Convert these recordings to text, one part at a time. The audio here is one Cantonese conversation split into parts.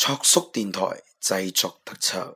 卓叔電台製作特輯。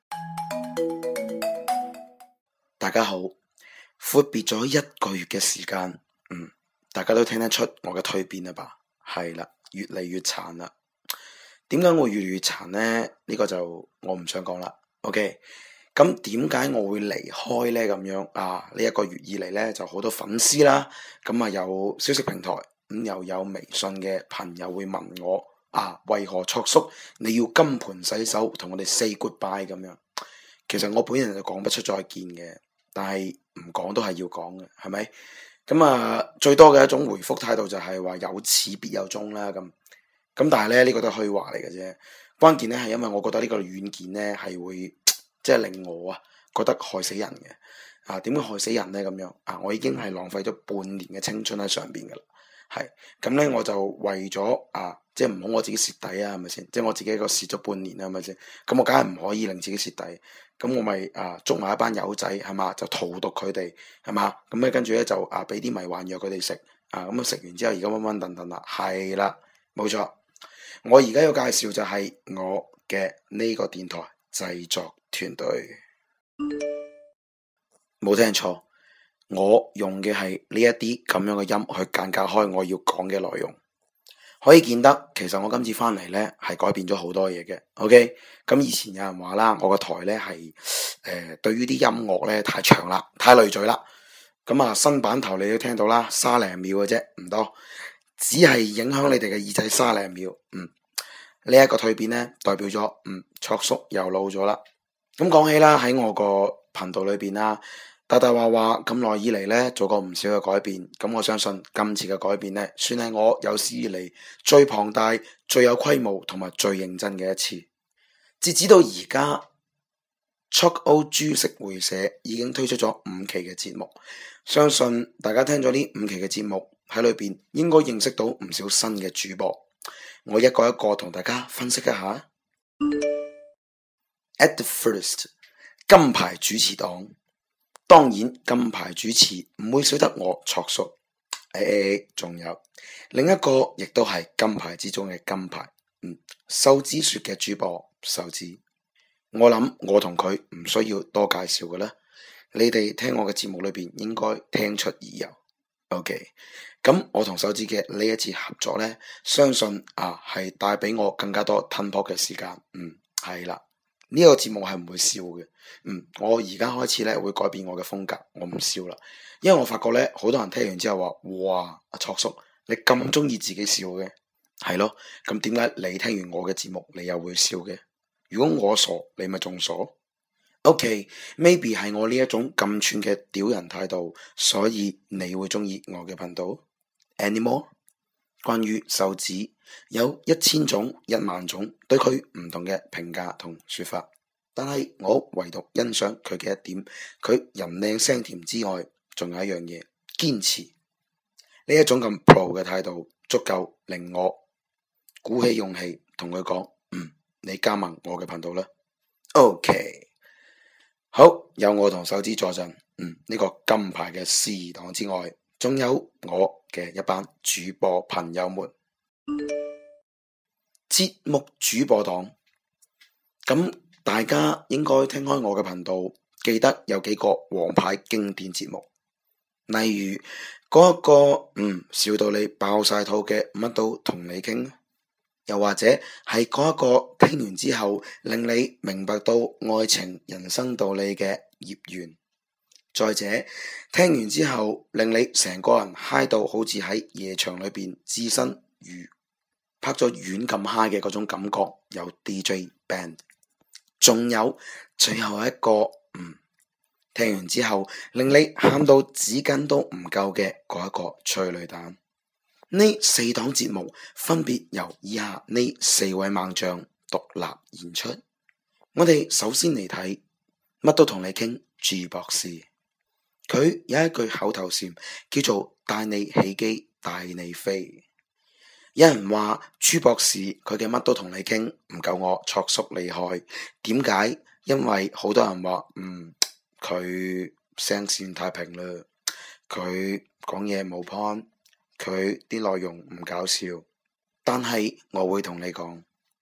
大家好，闊別咗1個月嘅時間，大家都聽得出我嘅蛻變啦吧？係啦，越嚟越殘啦。點解我越嚟越殘呢？呢個就我唔想講啦。OK，咁點解我會離開呢？咁樣啊，呢1個月以嚟呢，就好多粉絲啦，咁啊有消息平台，咁又有微信嘅朋友會問我啊，為何卓叔你要金盆洗手同我哋 say goodbye 咁樣？其實我本人就講不出再見嘅，但係唔講都係要講嘅，係咪？咁啊，最多嘅一種回覆態度就係話有始必有終啦，咁但係咧呢個都係虛話嚟嘅啫。關鍵咧係因為我覺得呢個軟件咧係會即係令我覺得害死人嘅。點解害死人咧？咁樣我已經係浪費咗半年嘅青春喺上邊噶啦。係咁咧，我就為咗即係唔好我自己蝕底啊，係咪先？即係我自己一個蝕咗半年啦，係咪先？咁我梗係唔可以令自己蝕底，咁我咪捉埋一班友仔係嘛，就荼毒佢哋係嘛，咁咧跟住咧就俾啲迷幻藥佢哋食咁啊，食完之後而家溫溫頓頓啦，係啦，冇錯。我而家要介紹就係我嘅呢個電台製作團隊，冇聽錯。我用嘅係呢一啲咁樣嘅音去間隔開我要講嘅內容，可以見得其實我今次翻嚟呢係改變咗好多嘢嘅。OK，咁以前有人話啦，我個台呢係對於啲音樂呢太長啦，太累贅啦。咁新版頭你都聽到啦，30秒嘅啫，唔多，只係影響你哋嘅耳仔30秒。呢一個蛻變呢，代表咗卓叔又老咗啦。咁講起啦，喺我個頻道裏邊啦，大大話話咁耐以嚟呢，做過唔少嘅改變，咁我相信今次嘅改變呢，算係我有史以嚟最龐大、最有規模同埋最認真嘅一次。截止到而家，卓 O 株式會社已經推出咗5期嘅節目，相信大家聽咗呢5期嘅節目喺裏邊，應該認識到唔少新嘅主播。我一個一個同大家分析一下。At the first， 金牌主持檔。當然金牌主持唔會少得我卓叔，仲有另一個亦都係金牌之中嘅金牌，瘦子說嘅主播瘦子，我諗我同佢唔需要多介紹嘅啦，你哋聽我嘅節目裏邊應該聽出耳油。OK， 咁我同瘦子嘅呢一次合作呢，相信係帶俾我更加多吞泡嘅時間。係啦。呢個節目係唔會笑嘅，我而家開始咧會改變我嘅風格，我唔笑啦，因為我發覺咧好多人聽完之後話，哇，阿卓叔你咁中意自己笑嘅，係咯，咁點解你聽完我嘅節目你又會笑嘅？如果我傻，你咪仲傻。OK，maybe 係我呢一種咁串嘅屌人態度，所以你會中意我嘅頻道。Anymore？關於瘦子有1000種10000種對佢唔同嘅評價同說法，但係我唯獨欣賞佢嘅一點，佢人靚聲甜之外，仲有一樣嘢，堅持。呢一種咁 pro 嘅態度，足夠令我鼓起勇氣同佢講，你加盟我嘅頻道啦。OK， 好，有我同瘦子坐鎮，呢個金牌嘅司儀檔之外，仲有我嘅一班主播朋友們。節目主播檔，咁大家應該聽開我嘅頻道，記得有幾個王牌經典節目，例如嗰一個笑到你爆晒肚嘅乜都同你傾，又或者係嗰一個聽完之後令你明白到愛情人生道理嘅葉緣。再者，聽完之後令你成個人嗨到好似喺夜場裏邊置身如拍咗丸咁嗨嘅嗰種感覺，有 DJ band。仲有最後一個聽完之後令你喊到紙巾都唔夠嘅嗰一個催淚彈。呢4檔節目分別由以下呢4位猛將獨立演出。我哋首先嚟睇乜都同你傾 G 博士。佢有一句口頭禪叫做帶你起機帶你飛。有人話朱博士佢嘅乜都同你傾唔夠我卓叔厲害，點解？因為好多人話佢聲線太平啦，佢講嘢冇 point， 佢啲內容唔搞笑。但係我會同你講，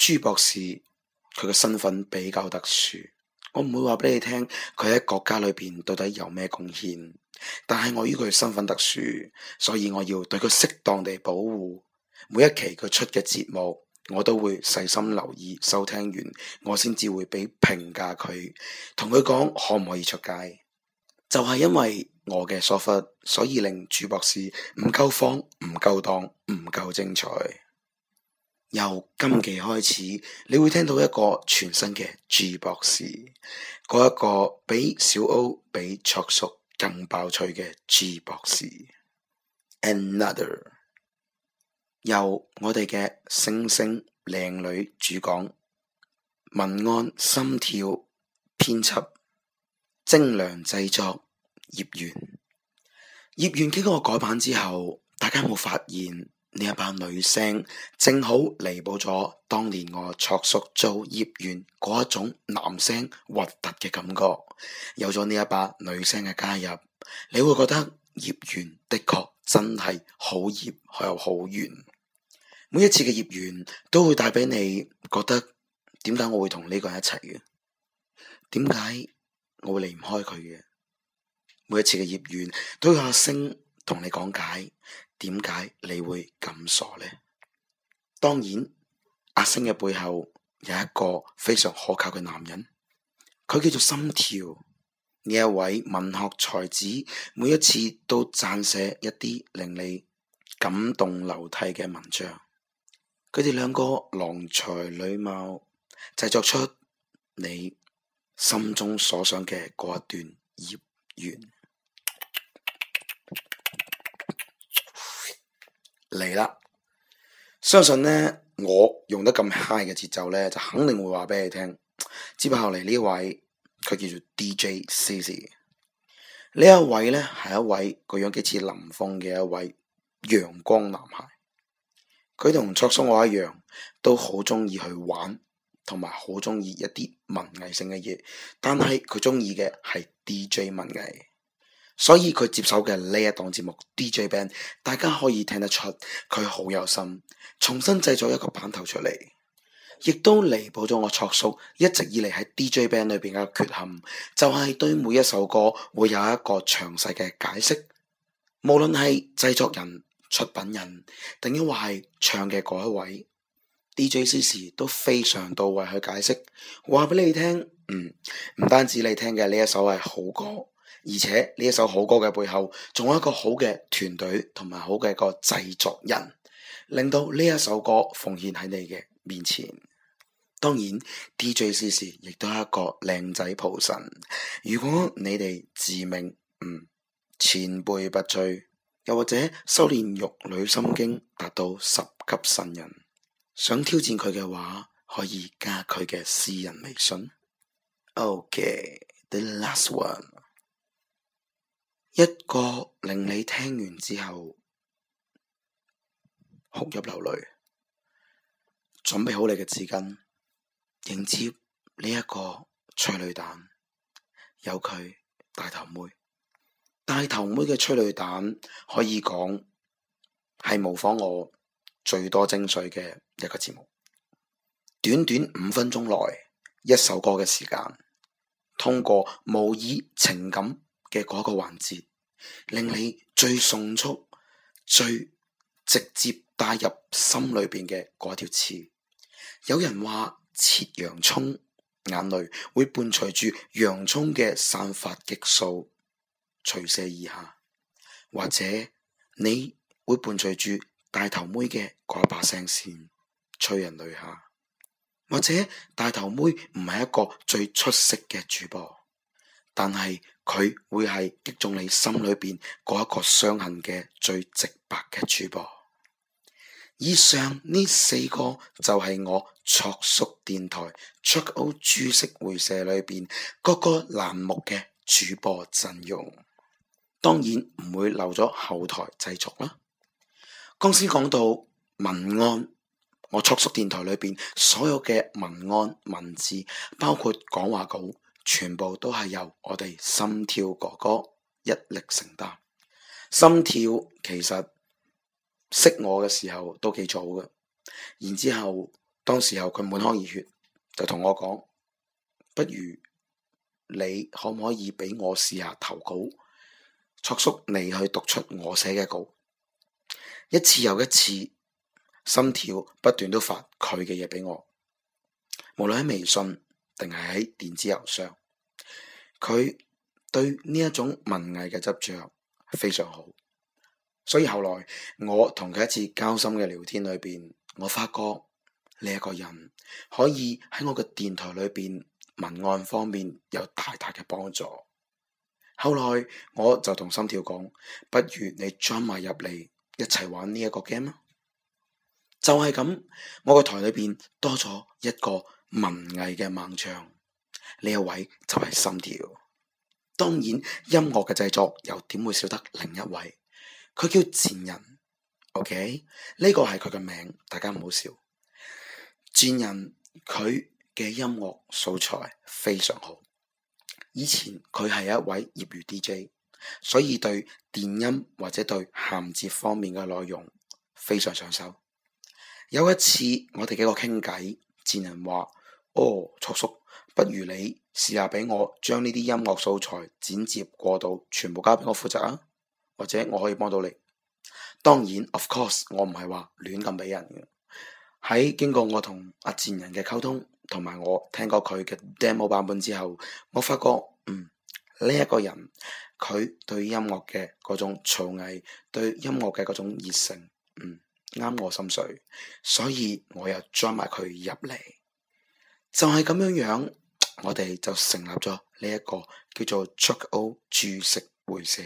朱博士佢嘅身份比較特殊，我唔會話俾你聽佢喺國家裏邊到底有咩貢獻，但係我於佢身份特殊，所以我要對佢適當地保護。每一期佢出嘅節目，我都會細心留意收聽完，我先至會俾評價佢，同佢講可唔可以出街。就係因為我嘅疏忽，所以令朱博士唔夠放、唔夠檔、唔夠精彩。由今期開始，你會聽到一個全新嘅朱博士，嗰一個比小歐、比卓叔更爆趣嘅朱博士。Another 由我哋嘅星星靚女主講，文案心跳編輯精良製作葉瑗。葉瑗經過改版之後，大家有冇發現呢一把女聲正好彌補咗當年我卓叔做葉瑗嗰一種男聲核突嘅感覺。有咗呢一把女聲嘅加入，你會覺得葉瑗的確真係好葉又好瑗。每一次嘅葉瑗都會帶俾你覺得，點解我會同呢個人一齊嘅？點解我會離唔開佢嘅？每一次嘅葉瑗都有阿星同你講解，點解你會咁傻呢？當然，阿星嘅背後有一個非常可靠嘅男人，佢叫做心跳。呢一位文學才子，每一次都撰寫一啲令你感動流涕嘅文章。佢哋兩個郎才女貌，製作出你心中所想嘅嗰一段葉瑗。嚟啦！相信呢，我用得咁 high 嘅節奏呢，就肯定會話俾你聽。接下嚟呢位，佢叫做 DJ CC。呢一位呢，係一位個樣幾似林峰嘅一位陽光男孩。佢同卓叔我一樣，都好中意去玩，同埋好中意一啲文藝性嘅嘢。但係佢中意嘅係 DJ 文藝，所以佢接手嘅呢一檔節目 DJ Band， 大家可以聽得出佢好有心，重新製作一個版頭出嚟，亦都彌補咗我卓叔一直以嚟喺 DJ Band 裏邊嘅缺陷，就係對每一首歌會有一個詳細嘅解釋，無論係製作人、出品人，定抑或係唱嘅嗰一位 DJ CC 都非常到位去解釋，話俾你聽。唔單止你聽嘅呢一首係好歌，而且呢一首好歌嘅背後，仲有一個好嘅團隊同埋好嘅一個製作人，令到呢一首歌奉獻喺你嘅面前。當然 DJ CC 亦都係一個靚仔蒲神。如果你哋自命前輩不追，又或者修煉玉女心經達到10級神人，想挑戰佢嘅話，可以加佢嘅私人微信。OK，the last one， 一個令你聽完之後哭泣流淚，準備好你嘅紙巾，迎接呢一個催淚彈。有佢大頭妹。大頭妹嘅催淚彈可以講係模仿我最多精髓嘅一個節目。短短5分鐘內，一首歌嘅時間，通過模擬情感嘅嗰個環節，令你最迅速、最直接帶入心裏邊嘅嗰條刺。有人話切洋蔥，眼淚會伴隨住洋蔥嘅散發激素垂瀉而下，或者你會伴隨住大頭妹嘅嗰把聲線催人淚下，或者大頭妹唔係一個最出色嘅主播，但係佢會係擊中你心裏邊嗰一個傷痕嘅最直白嘅主播。以上呢4個就係我卓叔電台卓歐株式會社裏邊各個欄目嘅主播陣容。當然唔會漏咗後台製作啦。剛先講到文案，我卓叔電台裏邊所有嘅文案文字，包括講話稿，全部都係由我哋心跳哥哥一力承擔。心跳其實識我嘅時候都幾早嘅，然之後當時候佢滿腔熱血，就同我講，不如你可唔可以俾我試下投稿？卓叔，你去讀出我寫嘅稿。一次又一次，心跳不斷都發佢嘅嘢俾我，無論喺微信定係喺電子郵箱，佢對呢一種文藝嘅執着非常好。所以後來我同佢一次交心嘅聊天裏邊，我發覺呢一個人可以喺我嘅電台裏邊文案方面有大大嘅幫助。後來我就同心跳講，不如你 join 埋入嚟一齊玩呢一個 game 啊！就係咁，我個台裏邊多咗一個文藝嘅猛將，呢一位就係心跳。當然音樂嘅製作又點會少得另一位？佢叫賤人 ，OK？ 呢個係佢嘅名，大家唔好笑。賤人佢嘅音樂素材非常好，以前佢係一位業餘 DJ， 所以對電音或者對銜接方面嘅內容非常上手。有一次我哋幾個傾偈，賤人話：哦，卓叔，不如你試下俾我將呢啲音樂素材剪接過渡，全部交俾我負責啊！或者我可以幫到你。當然 of course 我唔係話亂咁俾人嘅。喺經過我同阿賤人嘅溝通，同埋我聽過佢嘅 demo 版本之後，我發覺呢一個人佢對音樂嘅嗰種造詣，對音樂嘅嗰種熱誠，啱我心水，所以我又 join 埋佢入嚟。就係咁樣樣，我哋就成立咗呢一個叫做 Chuck O 注釋會社。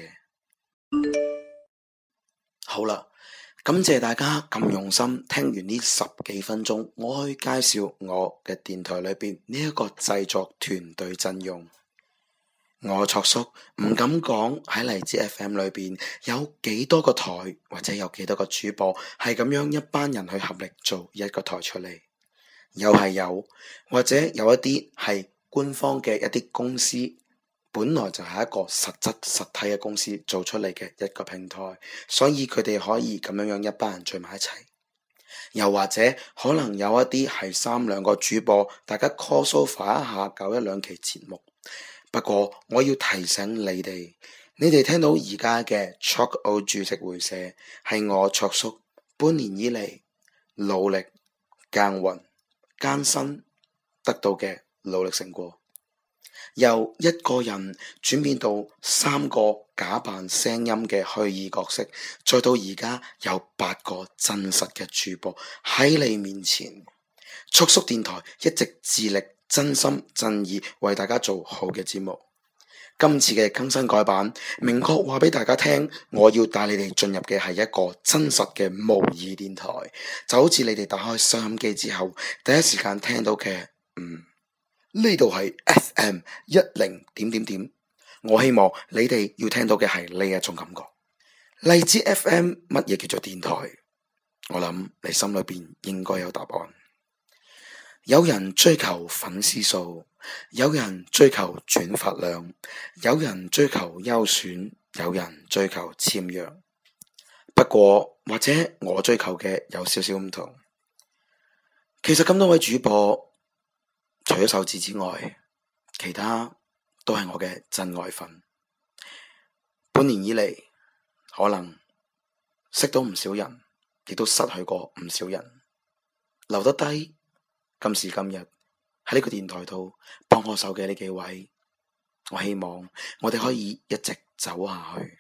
好啦，感謝大家咁用心聽完呢10幾分鐘，我去介紹我嘅電台裏邊呢一個製作團隊陣容。我卓叔唔敢講喺荔枝 FM 裏邊有幾多個台，或者有幾多個主播係咁樣一班人去合力做一個台出嚟，又係有，或者有一啲係官方嘅一啲公司，本來就係一個實質實體嘅公司做出嚟嘅一個平台，所以佢哋可以咁樣一班人聚埋一齊。又或者可能有一啲係3-2個主播，大家 call sofa 一下搞1-2期節目。不過我要提醒你哋聽到而家嘅 Chuck O 注釋會社係我卓叔半年以嚟努力耕耘艱辛得到嘅努力成果，由一個人轉變到3個假扮聲音嘅虛擬角色，再到而家有8個真實嘅主播喺你面前。卓叔電台一直致力真心真意為大家做好嘅節目。今次嘅更新改版，明確話俾大家聽，我要帶你哋進入嘅係一個真實嘅模擬電台，就好似你哋打開收音機之後，第一時間聽到嘅，呢度係 FM 10點。我希望你哋要聽到嘅係呢一種感覺。荔枝 FM 乜嘢叫做電台？我諗你心裏邊應該有答案。有人追求粉絲數，有人追求轉發量，有人追求優選，有人追求簽約。不過或者我追求嘅有少少唔同。其實咁多位主播，除咗手指之外，其他都係我嘅真愛粉。半年以嚟，可能識到唔少人，亦都失去過唔少人，留得低。今時今日喺呢個電台度幫我手嘅呢幾位，我希望我哋可以一直走下去。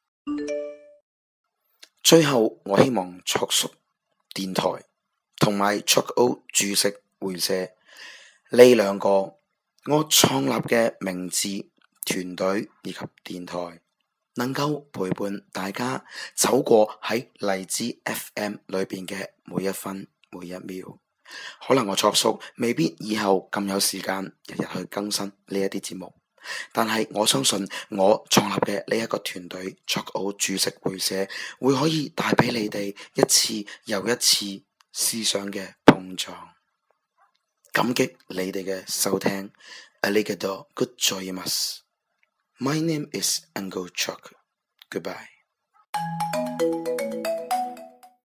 最後，我希望卓叔電台同埋 Chuck O 注釋會社呢2個我創立嘅名字、團隊以及電台，能夠陪伴大家走過喺荔枝 FM 裏邊嘅每一分每一秒。可能我卓叔未必以後咁有時間日日去更新呢一啲節目，但係我相信我創立嘅呢一個團隊 Chuck O 注釋會社會可以帶俾你哋一次又一次思想嘅碰撞。感激你哋嘅收聽。Arigato gozaimasu。My name is Uncle Chuck。Goodbye。